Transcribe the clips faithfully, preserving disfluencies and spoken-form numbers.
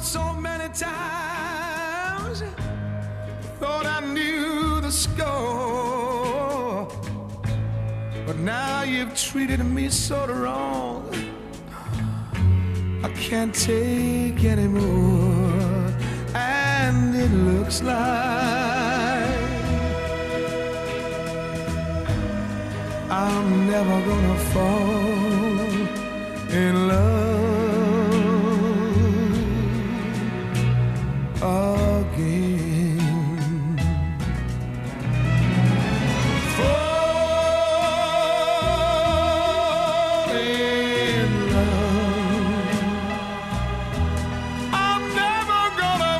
so many times, thought I knew the score, but now you've treated me so wrong, I can't take anymore, and it looks like I'm never gonna fall in love again. Fall in love. I'm never gonna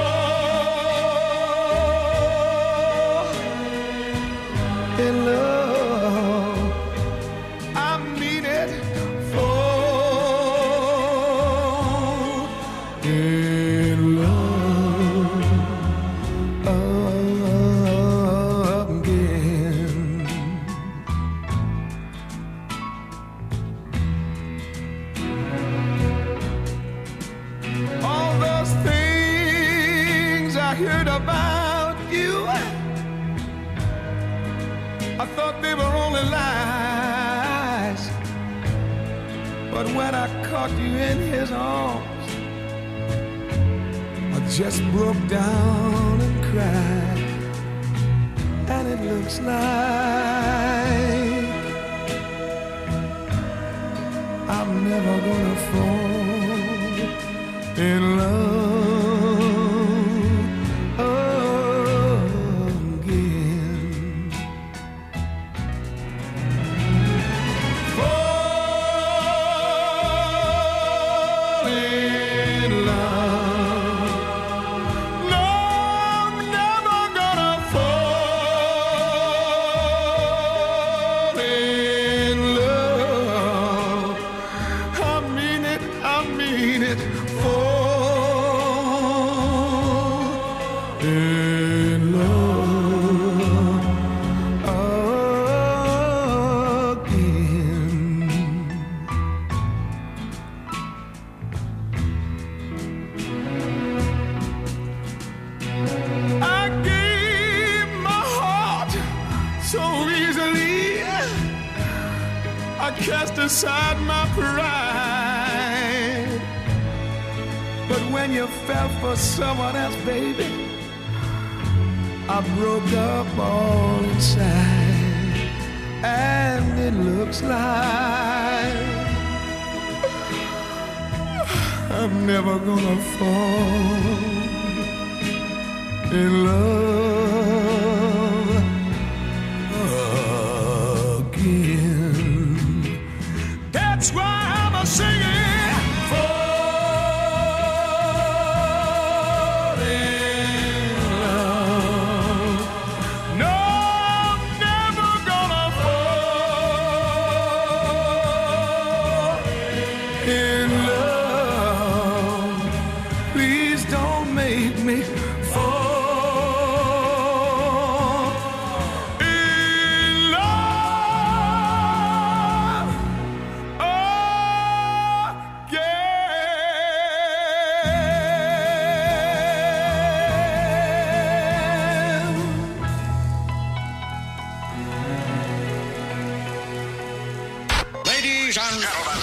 fall in love. I mean it. Fall in love again. All those things I heard about you, I thought they were only lies, but when I caught you in his arms, I just broke down and cried, and it looks like I'm never gonna fall in love again. Fall in love. No, I'm never gonna fall in love. I mean it, I mean it. Fall in love again. I gave my heart so easily, I cast aside my pride, but when you fell for someone else, baby, I broke up all inside, and it looks like I'm never gonna fall in love again. That's why I'm a singing. Fall in love. No, I'm never gonna fall in love. Please don't make me fall in love again. Ladies and gentlemen.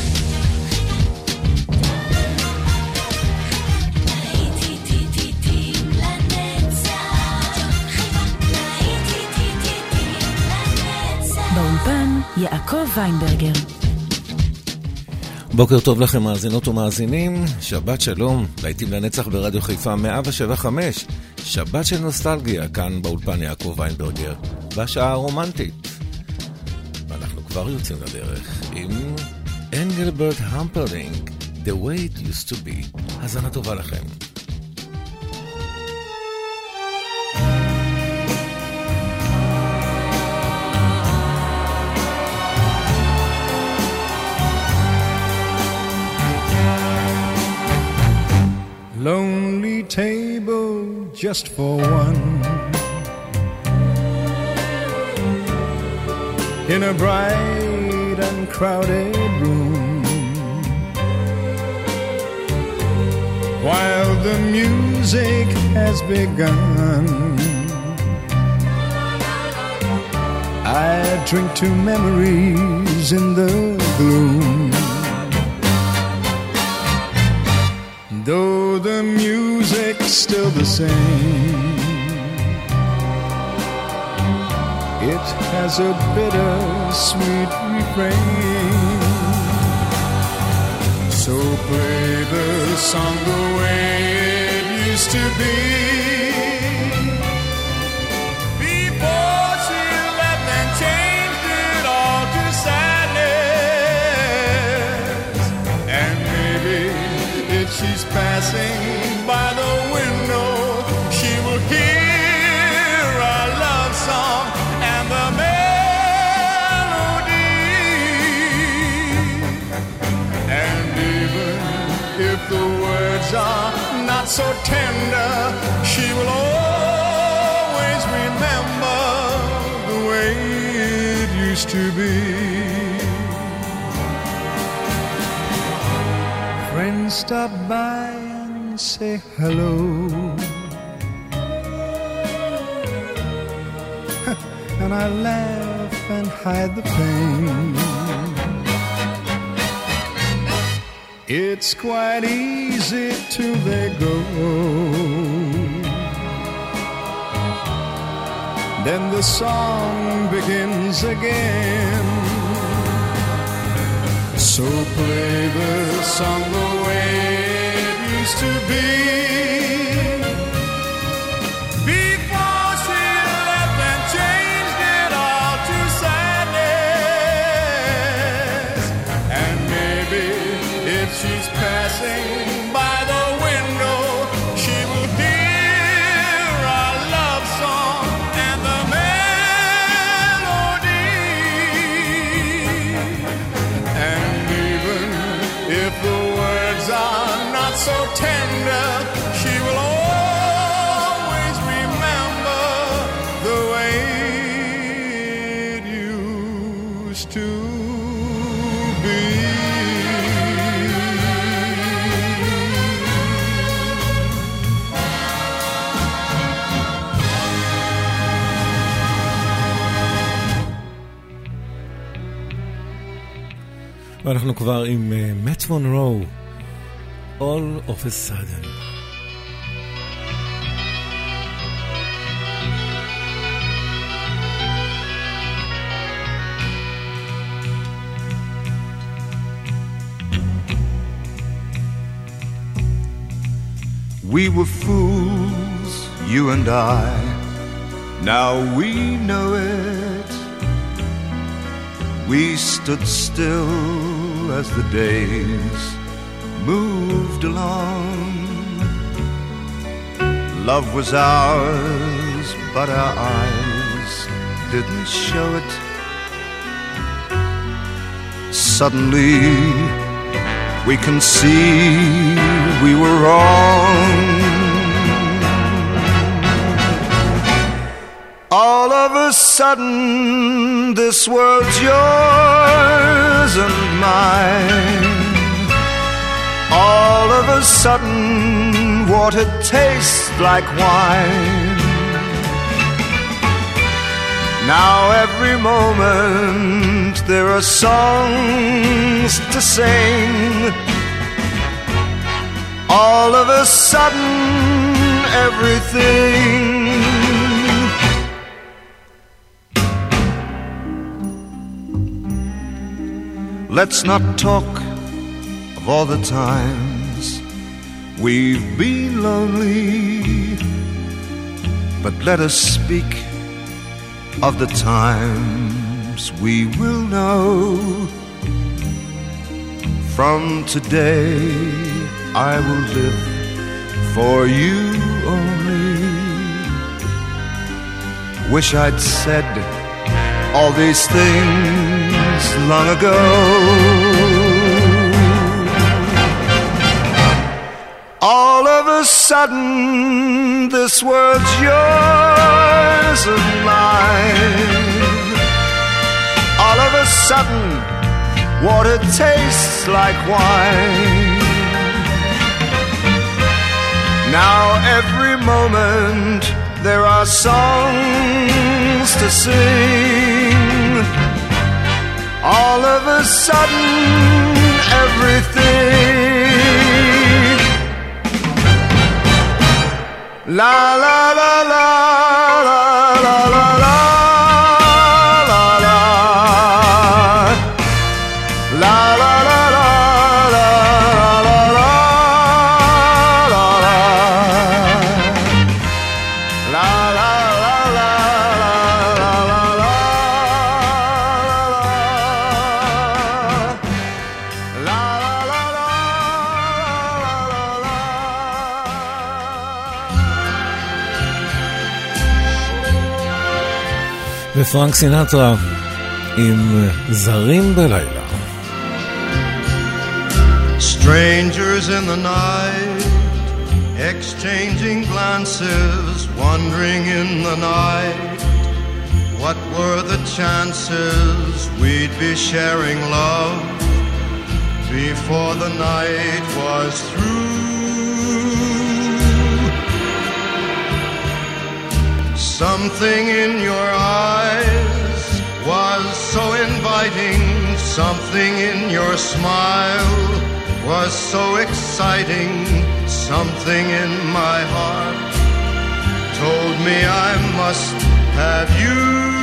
באולפן יעקב ויינברגר. בוקר טוב לכם מאזינות ומאזינים, שבת שלום, להיטים לנצח ברדיו חיפה מאה שבע נקודה חמש, שבת של נוסטלגיה, כאן באולפן יעקב ויינברגר, בשעה הרומנטית. ואנחנו כבר יוצאים לדרך עם אנגלברט המפרלינג, The Way It Used to Be. האזנה טובה לכם. Lonely table just for one, in a bright and crowded room. while the music has begun. I drink to memories in the gloom. Though the music's still the same, it has a bitter-sweet refrain. So play the song the way it used to be, before she left and changed it all to sadness. And maybe if she's passing by the window, she will hear our love song and the melody. And even if the words are not so tender, she will always remember the way it used to be. Friends stop by and say hello, and I laugh and hide the pain. It's quite easy till they go, then the song begins again. So play the song the way it used to be, before she left and changed it all to sadness. And maybe if she's passing by the window, she will hear our love song and the melody. And even if the words are not so tender, she will always remember the way it used to be. ואנחנו כבר עם מאט מונרו, All of a Sudden. We were fools, you and I, now we know it. We stood still as the days moved along. Love was ours, but our eyes didn't show it. Suddenly we can see we were wrong. All of a sudden this world's yours and mine. All of a sudden water tastes like wine. Now every moment there are songs to sing. All of a sudden everything. Let's not talk of all the times we've been lonely, but let us speak of the times we will know. From today I will live for you only. Wish I'd said all these things long ago. All of a sudden this world's yours and mine. All of a sudden water tastes like wine. moment there are songs to sing. All of a sudden everything la la la la la la la la ופרנק סינטרה עם זרים בלילה. Strangers in the night, exchanging glances, wandering in the night. What were the chances we'd be sharing love before the night was through? Something in your eyes was so inviting, something in your smile was so exciting, something in my heart told me I must have you.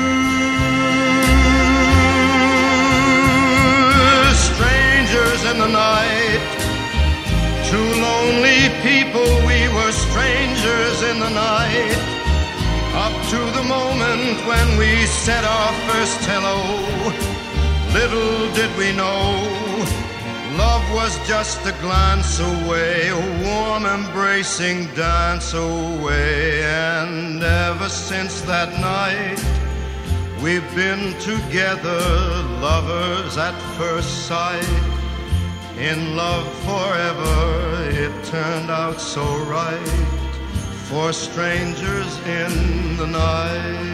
Strangers in the night, two lonely people, we were strangers in the night. Up to the moment when we said our first hello, little did we know, love was just a glance away, a warm embracing dance away. And ever since that night, we've been together, lovers at first sight, in love forever. It turned out so right for strangers in the night.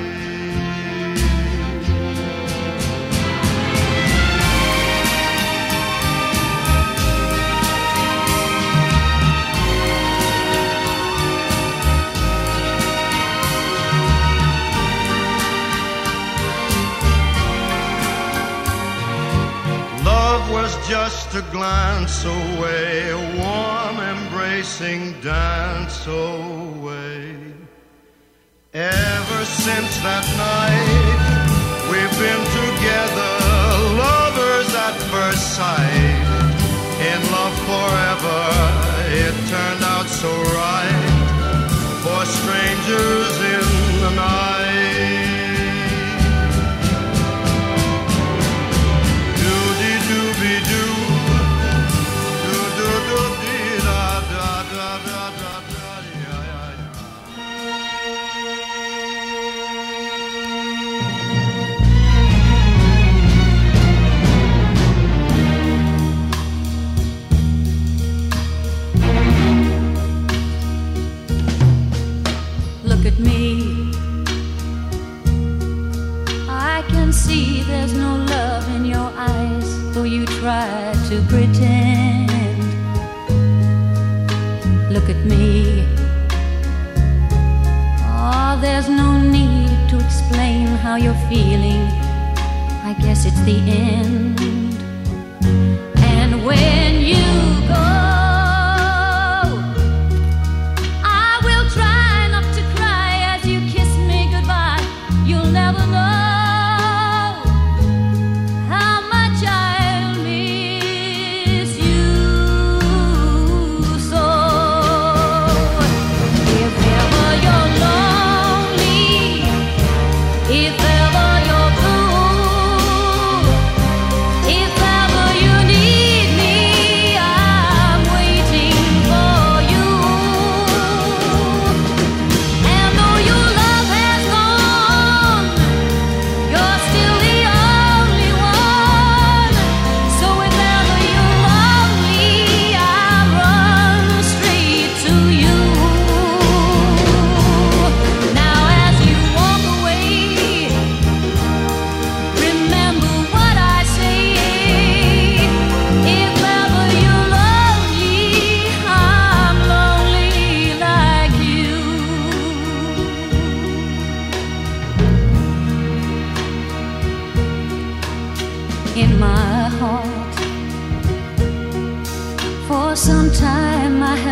Love was just a glance away, a warm embracing dance away. Ever since that night, we've been together, lovers at first sight, in love forever. It turned out so right for strangers in the night. Look at me, I can see there's no love in your eyes, though you try to pretend. Look at me, oh, there's no need to explain how you're feeling, I guess it's the end. And when you go, If ever you're blue,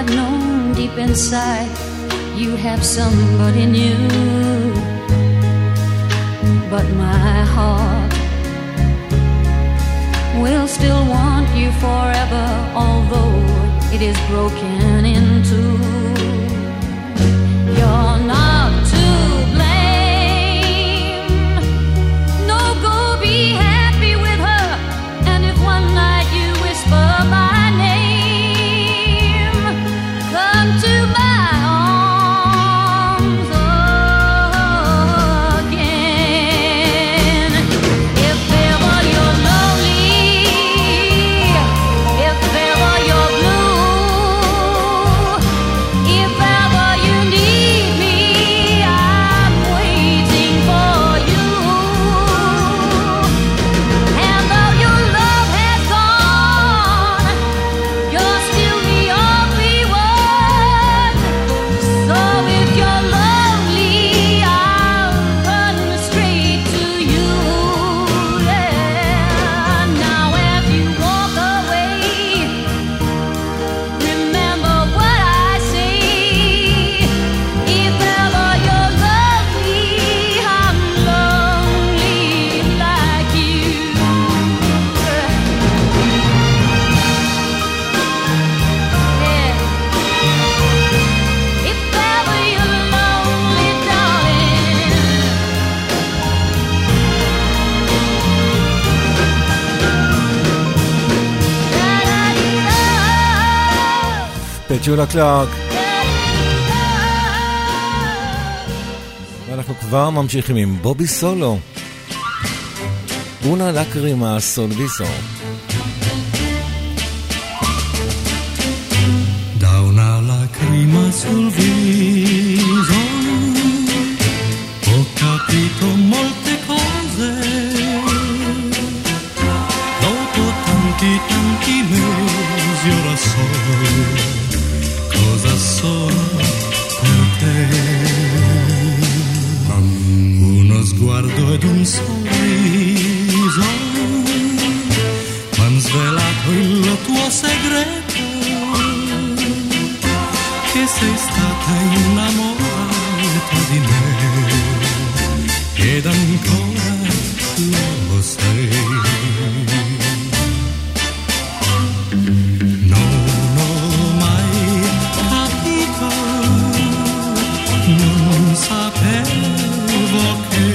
have known deep inside you have somebody new. But my heart will still want you forever, although it is broken in two. You're not to blame. No, go be happy with her. And if one night you whisper my name, come to my arms again. If ever you're lonely, if ever you're blue, if ever you need me, I'm waiting for you. And though your love has gone, you're still the only one. So if you're lonely, I'll run straight to you. Yeah. Now as you walk away, remember what I say. If ever you're lonely, I'm lonely like you. Yeah. If ever you're lonely, darling. Da-da-dee-da. פטולה קלארק. ואנחנו כבר ממשיכים עם בובי סולו. una lacrima sul viso. Da una lacrima sul viso ho capito molte cose. Dopo tanti tanti mesi ora so cosa sono per te. Uno sguardo ed un sorriso m'han svelato il tuo segreto, che sei stata innamorata di me ed ancora lo sei. Non ho mai capito, non sapevo che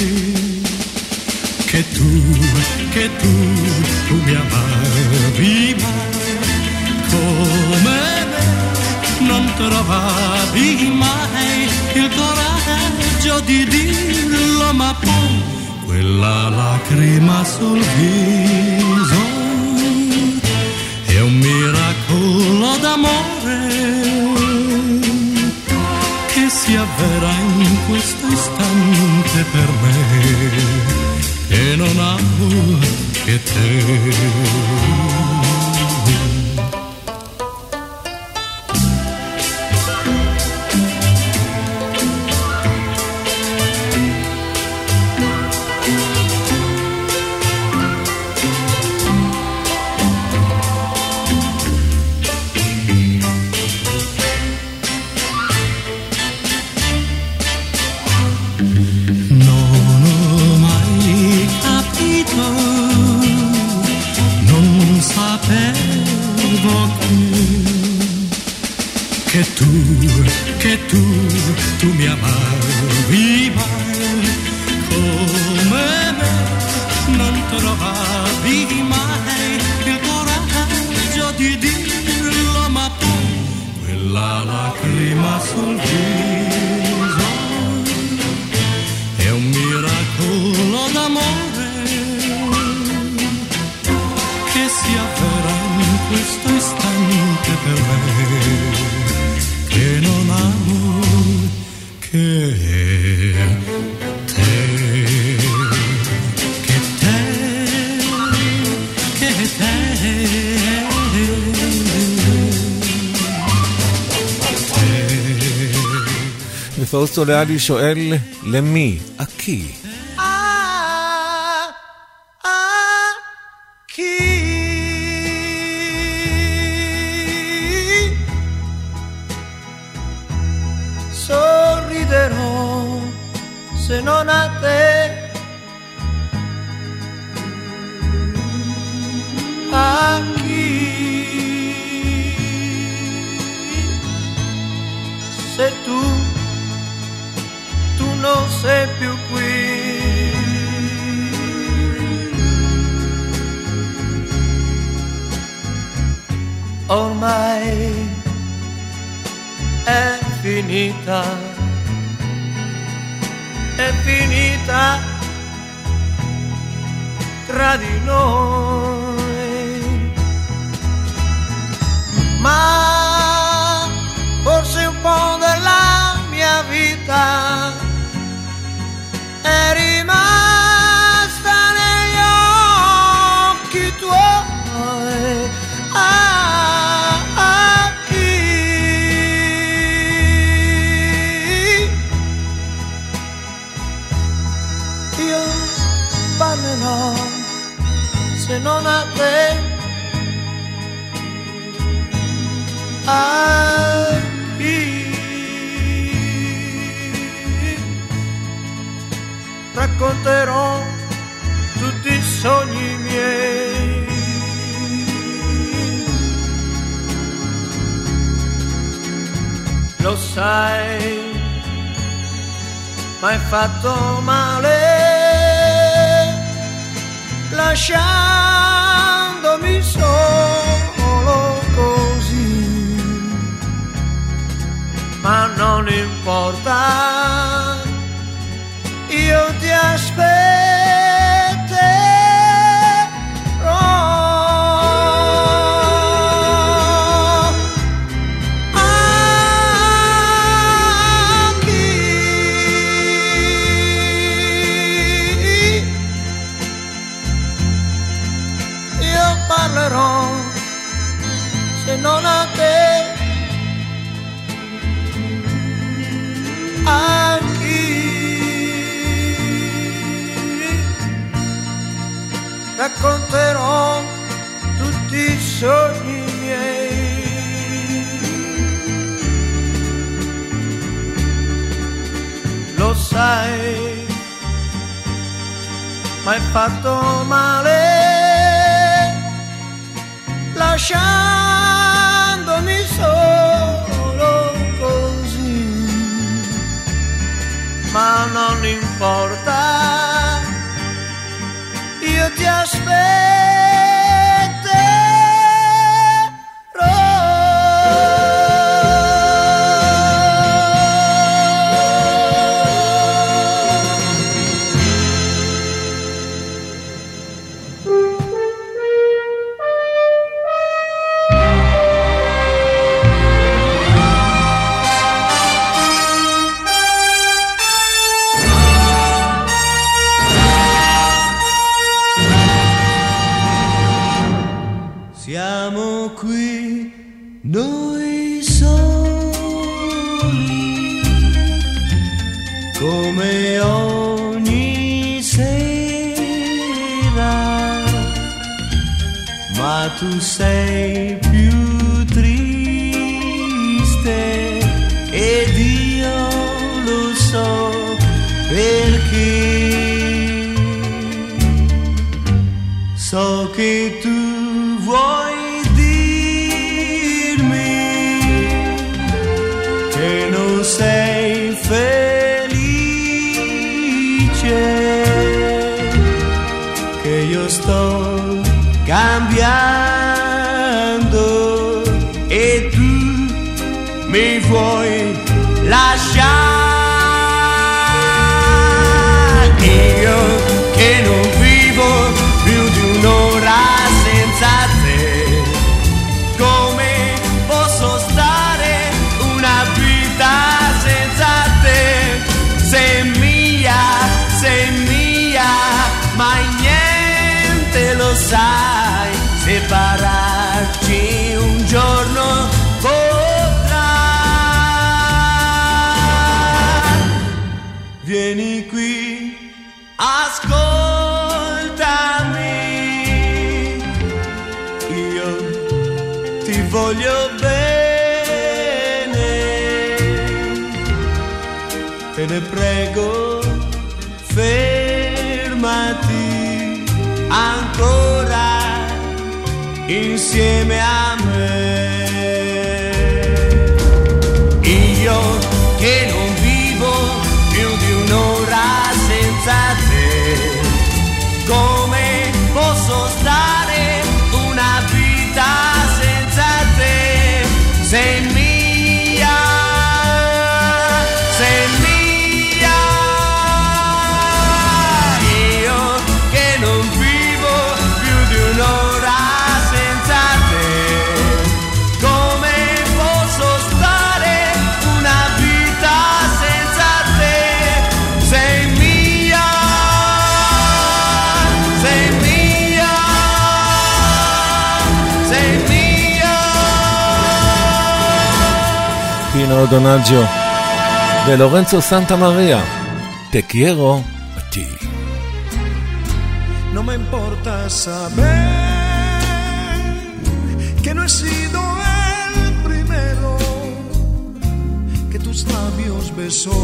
che tu, che tu, tu mi amavi mai come me, non trovavi mai il coraggio di dirlo, ma poi quella lacrima sul viso è un miracolo d'amore che si avvera in questo istante per me, e non amo che te. Non ho mai capito, non sapevo che, che tu, che tu, tu mi amavi mai come me, non trovavi mai il coraggio di dirlo, ma poi quella lacrima sul viso è un miracolo d'amore che si avvera in questo istante per me, che non amo che te, che te, che te. ופאוסטו ליאלי שואל למי? אקי. se non a te. A chi? Se tu, tu non sei più qui. Ormai è finita, è finita tra di noi, ma forse un po' della mia vita è rimasta negli occhi tuoi. Ah, ah, chi? Io parlerò se non a te. A chi? Racconterò tutti i sogni miei. Lo sai, m'hai fatto male, lasciandomi solo così, ma non importa, io ti aspetterò. Parlerò se non a te. A chi? Racconterò tutti i sogni miei. Lo sai, m'hai fatto male, lasciandomi solo così, ma non importa, io ti aspetterò. Siamo qui noi soli, come ogni sera, ma tu sei più triste ed io lo so perché. So che tu vuoi dirmi che non sei felice, che io sto cambiando e tu mi vuoi lasciare. Io che non vivo più di un'ora senza te, come posso stare una vita senza te? Sei mia, sei mia, ma niente lo sai, separarci un giorno potrà. Vieni qui, ascoltami, io ti voglio bene, te ne prego insieme a me. Io che non vivo più di un'ora senza te, come posso stare una vita senza te? Sei mia, sei mia. Io che non vivo più di un'ora senza te, come posso stare una vita senza te? Sei mia, sei mia, sei mia. Pino Donaggio de Lorenzo Santamaria, Te quiero a ti. No me importa saber que no he sido el primero que tus labios besó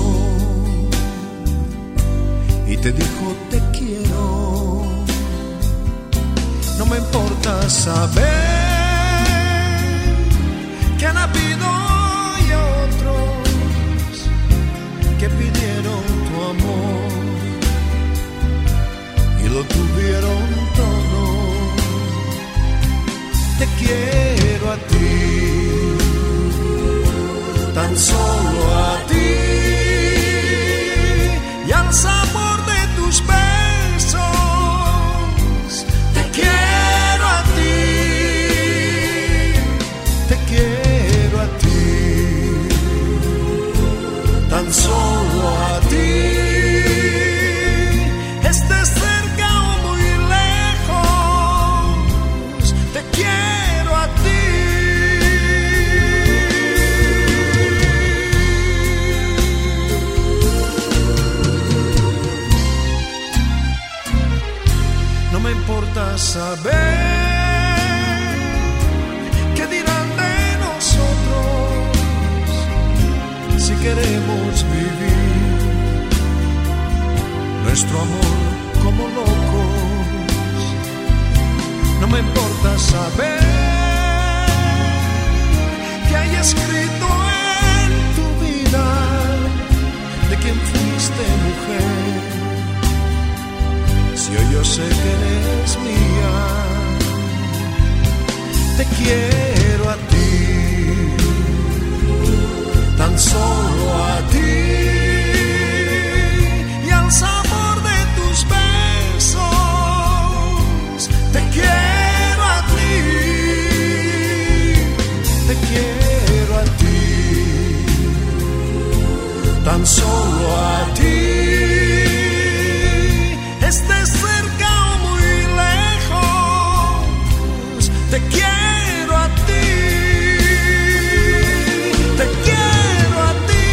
y te dijo te quiero. No me importa saber que han habido y otros que pidieron tu amor y lo tuvieron todo. Te quiero a ti, tan solo a ti, y al sabor de tus besos. Te quiero a ti, te quiero a ti, tan solo a ti. Estés cerca o muy lejos, te quiero a ti. No me importa saber qué dirán de nosotros si queremos vivir nuestro amor como locos. No me importa saber que hay escrito en tu vida de quién fuiste mujer. Si hoy yo sé que eres mía, te quiero a ti, tan solo a ti, y al sabor de tus besos. Te quiero a ti, te quiero a ti, tan solo a ti. Estés cerca o muy lejos, te quiero a ti, te quiero a ti.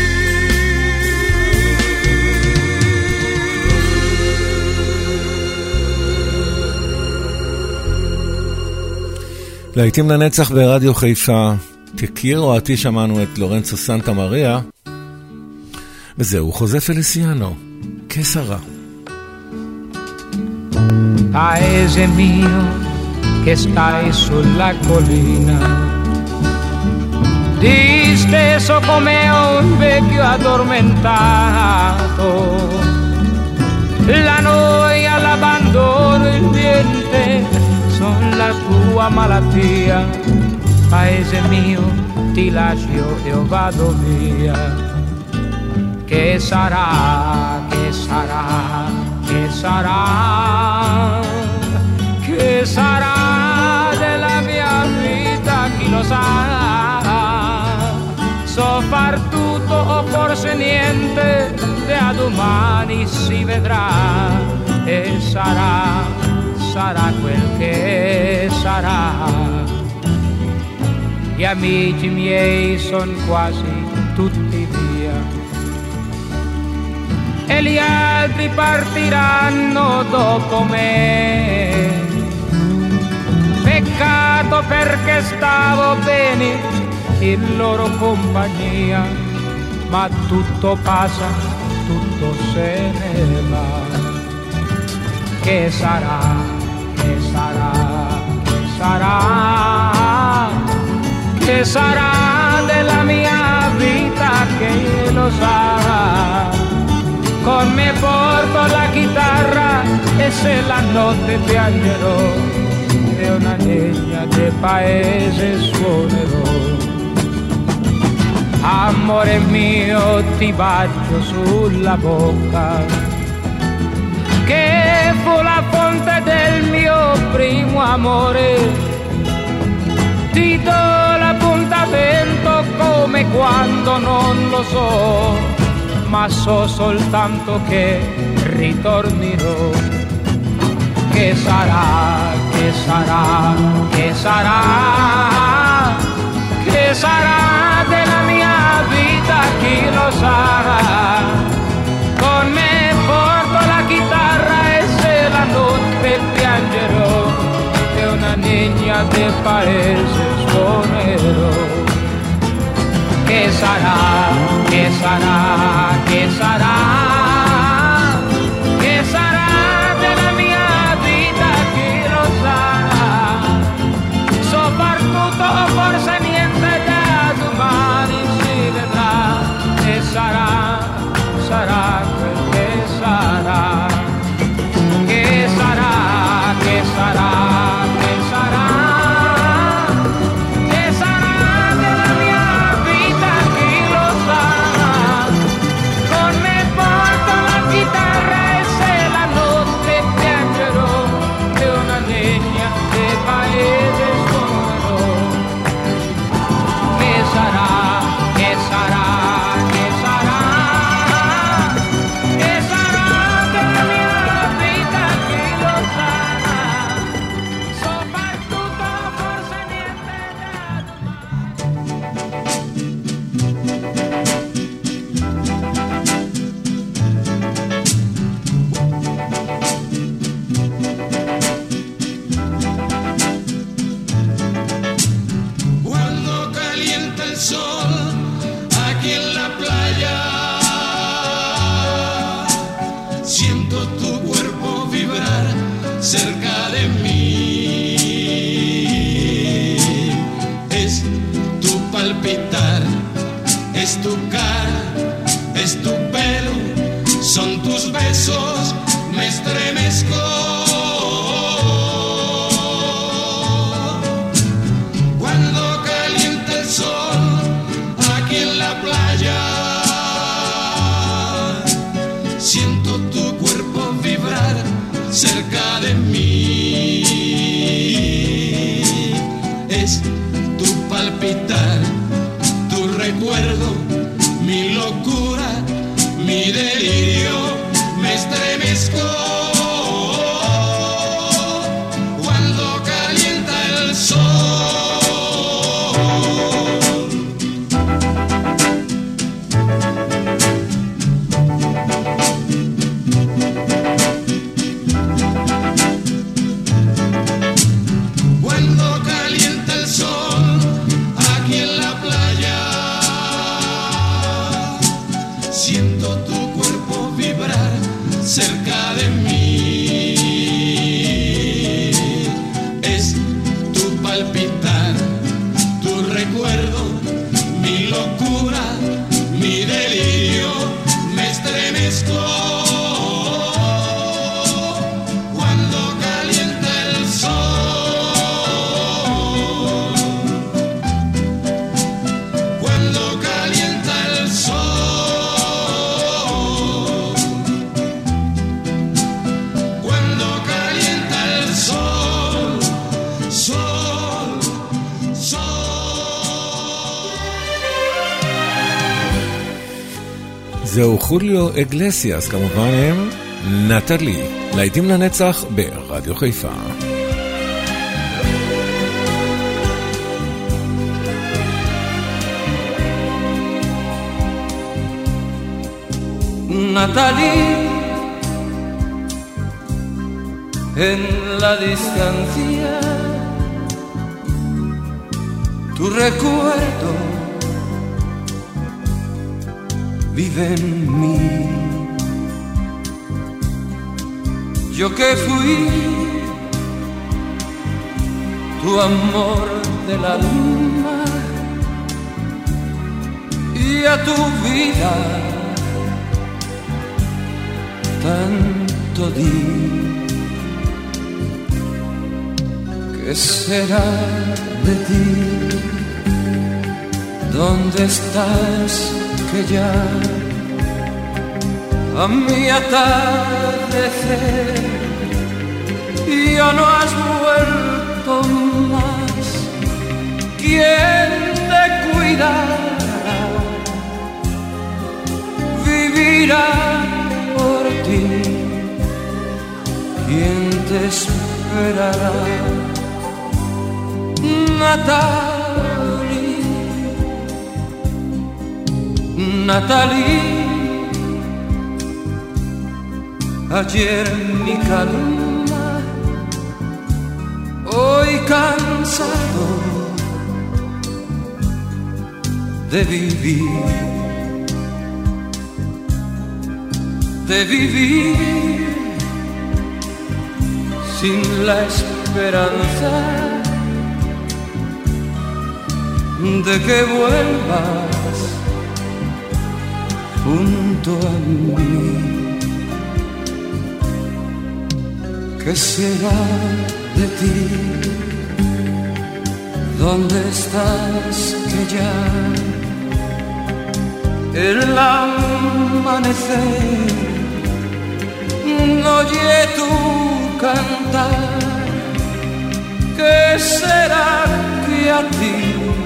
להיטים לנצח ברדיו חיפה, Te quiero a ti, שמענו את לורנצו סנטה מריה, וזהו חוזה פליסיאנו, כסרה. Paese mio che stai sulla collina, disteso come un vecchio addormentato, la noia, l'abbandono, il niente sono la tua malattia. Paese mio, ti lascio e io vado via. Che sarà, che sarà, che sarà, che sarà della mia vita, chi lo sa. So far tutto o forse niente, da domani si vedrà. E sarà, sarà quel che sarà. Gli amici miei son quasi tutti via e gli altri partiranno dopo me. Peccato perché stavo bene in loro compagnia, ma tutto passa, tutto se ne va. Che sarà, che sarà, che sarà, che sarà della mia vita, che lo sarà. Con me porto la chitarra e se la notte piangerò e una legna del paese suonerò. Amore mio, ti bacio sulla bocca, che fu la fonte del mio primo amore. Ti do l'appuntamento come quando non lo so, ma so soltanto che ritornerò. Che sarà, che sarà, che sarà, che sarà della mia vita, chi lo sarà. Con me porto la chitarra e se la notte piangerò e una niña del paese suonerò. Che sarà, che sarà, che sarà, che sarà della mia vita, chi lo sarà. Soprattutto forse niente da domani si vedrà. E sarà, sarà quel che sarà. Che sarà, che sarà, che sarà. Es tu cara, es tu pelo, son tus besos, me estremezco. Cuando calienta el sol aquí en la playa, siento tu cuerpo vibrar cerca de mí. Es tu palpitar, tu recuerdo, mi locura, mi delirio, me estremezco. Cuando calienta el sol, cuando calienta el sol aquí en la playa, siento tu cuerpo vibrar cerca de mí. Es tu palpitar, tu recuerdo, mi locura, mi delirio, me estremezco. Cuando calienta el sol, cuando calienta el sol, cuando calienta el sol, sol, sol. זהו חוליו אגלסיאס, כמובן הם נטלי, להיטים לנצח ברדיו חיפה. Natalie, en la distancia, tu recuerdo vive en mí. Yo que fui tu amor del alma y a tu vida tanto di. ¿Qué será de ti? ¿Dónde estás que ya a mi atardecer ya no has vuelto más? ¿Quién te cuidará? Vivirá por ti. ¿Quién te esperará? Natalie, Natalie, ayer mi calma, hoy cansado de vivir, de vivir sin la esperanza de que vuelvas junto a mí. ¿Qué será de ti? ¿Dónde estás que ya el amanecer no oye tu cantar? ¿Qué será que a ti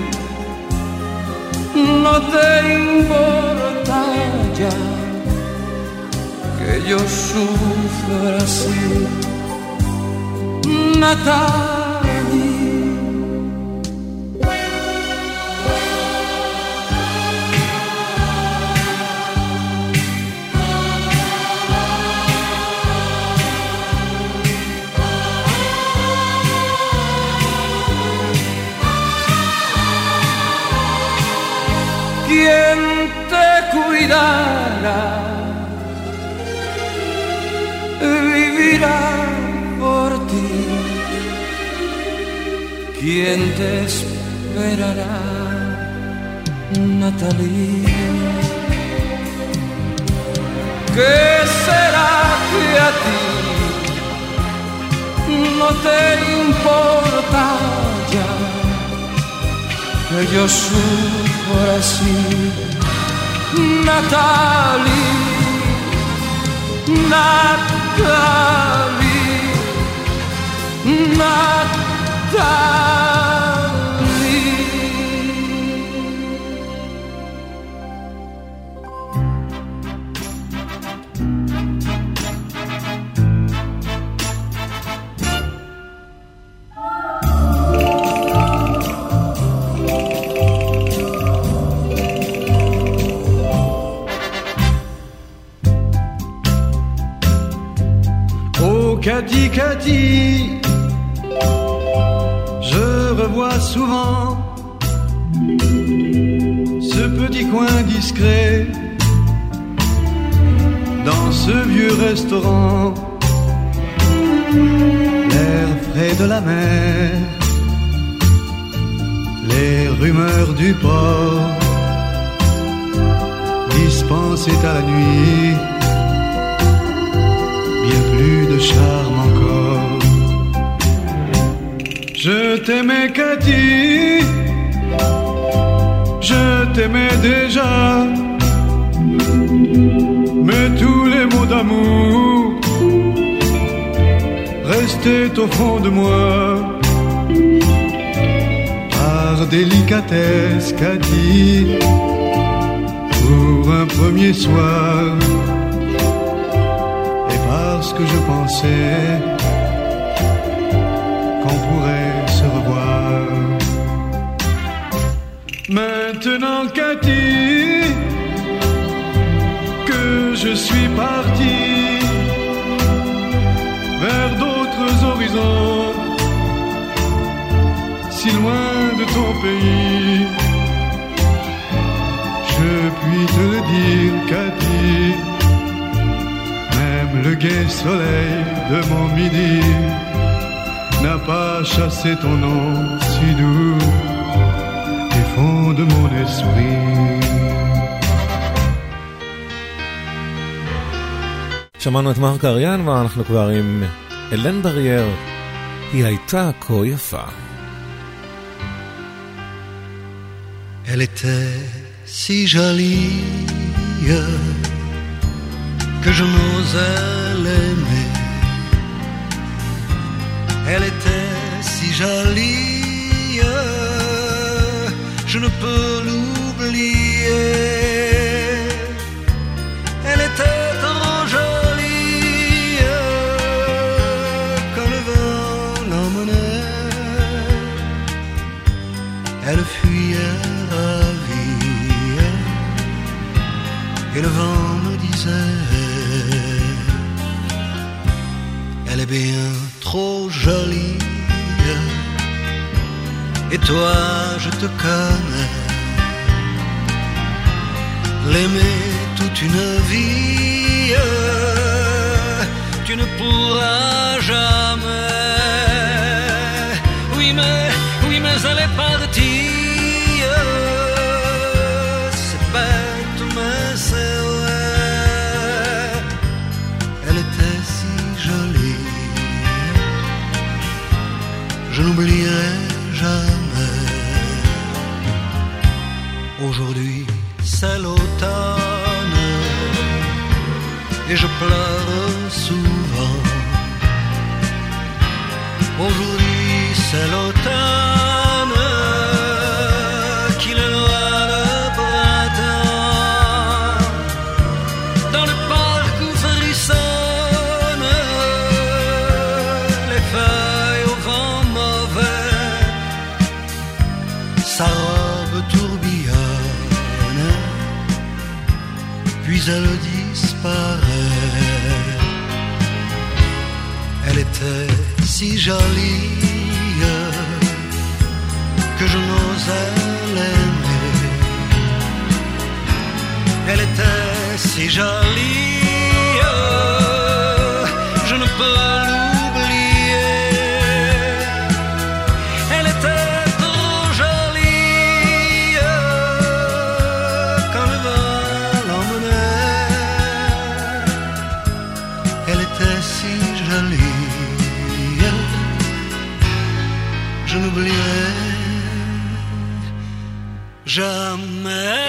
no te importa ya que yo sufra así? Natalie, ¿quién te cuidará? Vivirá por ti. ¿Quién te esperará? Natalie. ¿Qué será que a ti no te importa ya que yo sufra así? Natalie, Natalie, Natalie. Cathy, Cathy, je revois souvent ce petit coin discret dans ce vieux restaurant, l'air frais de la mer, les rumeurs du port dispensées à la nuit. Bien plus de charme encore. Je t'aimais Cathy, je t'aimais déjà, mais tous les mots d'amour restaient au fond de moi. Par délicatesse Cathy, pour un premier soir, parce que je pensais qu'on pourrait se revoir. Maintenant Cathy, que je suis parti vers d'autres horizons, si loin de ton pays, je puis te le dire Cathy, le gai soleil de mon midi n'a pas chassé ton nom si doux du fond de mon esprit. שמענו את מרק אריאן ואנחנו כבר עם אלן ברייר, היא הייתה כה יפה. Elle était si jolie que je n'osais l'aimer. Elle était si jolie, je ne peux l'oublier. Elle était trop jolie, quand le vent l'emmenait, elle fuyait ravie, et le vent me disait, elle est bien trop jolie, et toi je te connais. L'aimer toute une vie, tu ne pourras jamais. Oui mais, oui mais elle est partie, c'est bête mais c'est vrai. Elle était si jolie, je n'oublierai jamais. Aujourd'hui c'est l'automne et je pleure souvent. Aujourd'hui c'est l'automne qui le noie le printemps. Dans le parc où frissonnent les feuilles au vent mauvais, sa robe tourbillonne, puis elle disparaît. Elle était si jolie que je n'osais l'aimer. Elle était si jolie, je ne peux l'oublier. Elle était trop jolie, quand le vent l'emmenait. Elle était si jolie, je n'oublierai jamais.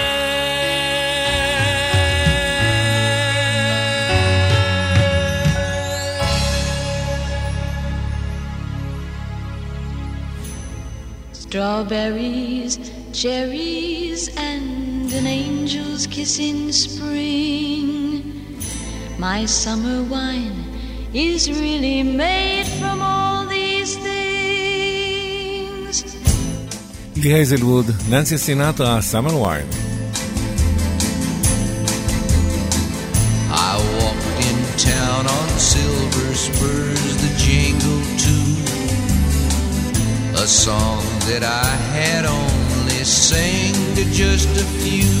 Strawberries, cherries, and an angel's kiss in spring. My summer wine is really made from all these things. לי הייזלווד, ננסי סינטרה, סאמר ויין. I walked in town on silver spurs that jingle too, a song that I had only sang to just a few.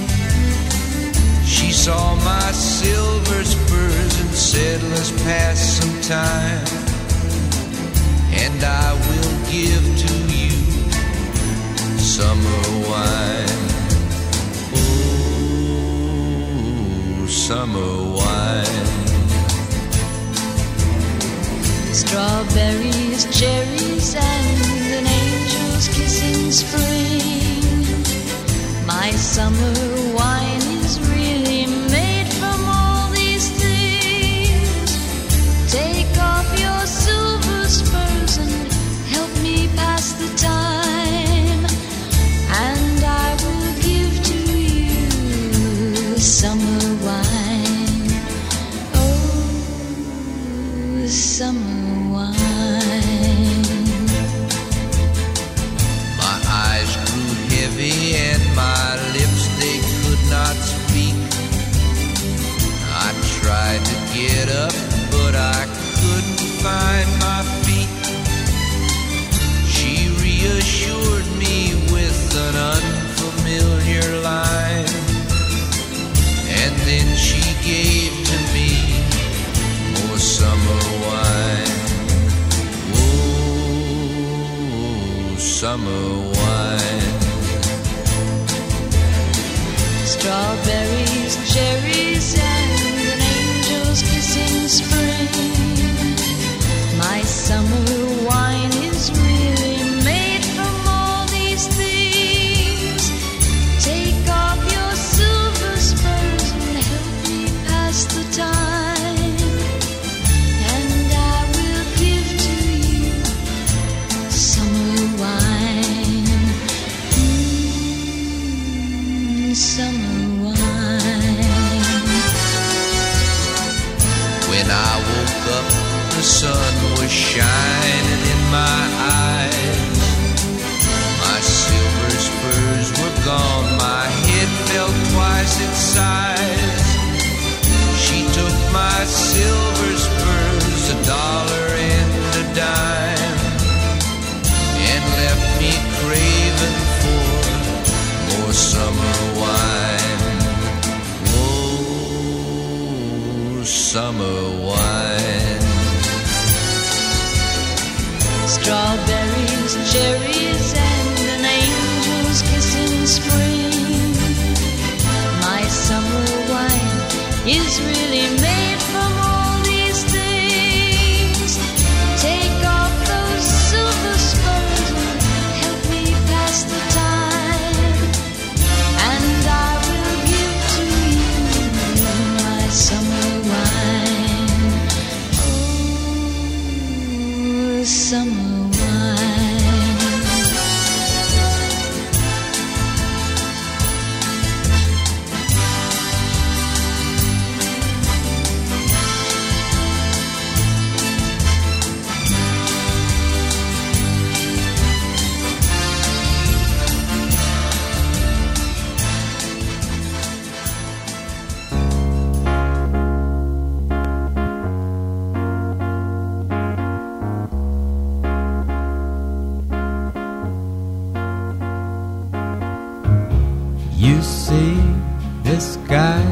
She saw my silver spurs and said, let's pass some time, and I will give to you summer wine. Oh, summer wine. Strawberries, cherries, and an angel's kiss in spring. My summer wine is really made from all these things. Take off your silver spurs and help me pass the time, and I will give to you summer wine. Oh, summer wine. My eyes grew heavy and my lips, they could not Strawberries, cherries, and an angel's kiss in spring. My summer wine is really made from all these things. Take off your silver spurs and help me pass the time, and I will give to you summer wine. Mm, summer wine. When I woke up, the sun was shining in my eyes. My silver spurs were gone, my head fell twice its size. She took my silver spurs, a dollar and a dime, and left me craving for more summer wine. Oh, summer wine. Strawberries, cherries, and an angel's kiss in spring. My summer wine is really made from all these things. Take off those silver spurs and help me pass the time, and I will give to you my summer wine. Oh, summer You see this guy,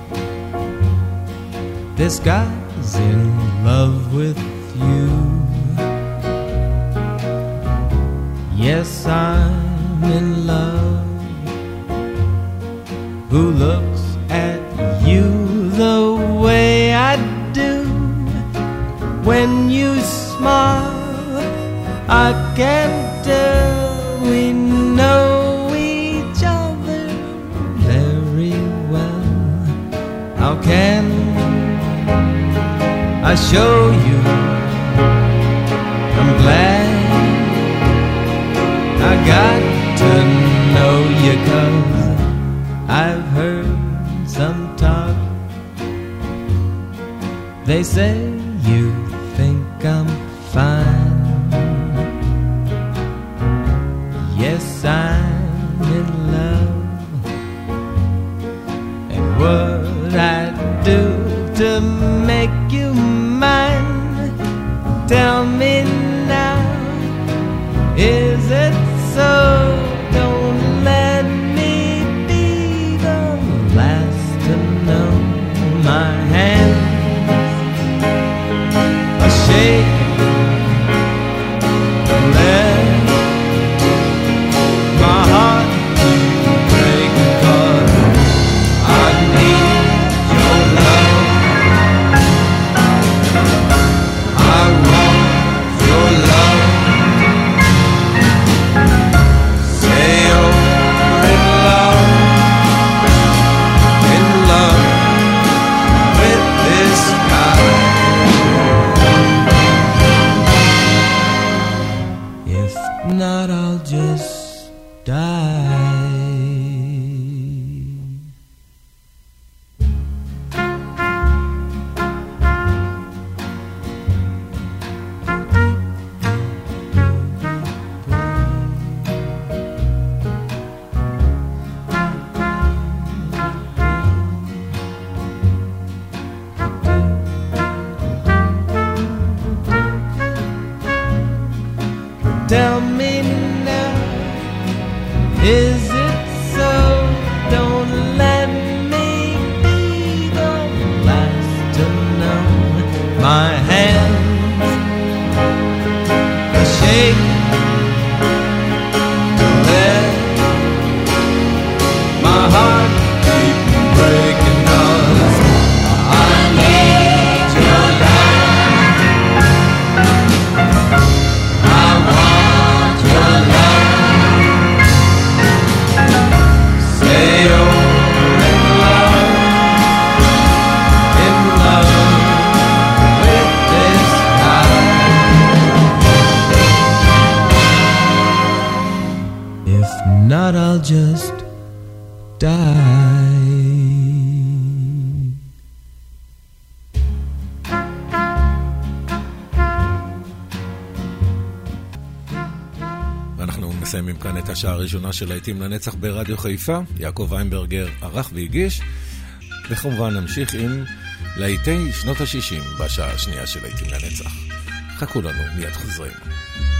this guy's in love with you. Yes, I'm in love. Who looks at you the way I do? When you smile, I can tell we know how can I show you I'm glad I got to know you, 'cause I've heard some talk. They say you think I'm fine. Yes, I'm in love. And what I do to make you mine? Tell me now, is it so? Don't let me be the last to know. My hands are shaking, let my heart break, 'cause I need your love. I want die. ואנחנו מסיימים כאן את השעה הראשונה של להיטים לנצח ברדיו חיפה. יעקב ויינברגר ערך והגיש, וכמובן נמשיך עם להיטי שנות ה-שישים בשעה השנייה של להיטים לנצח. חכו לנו, מיד חוזרים.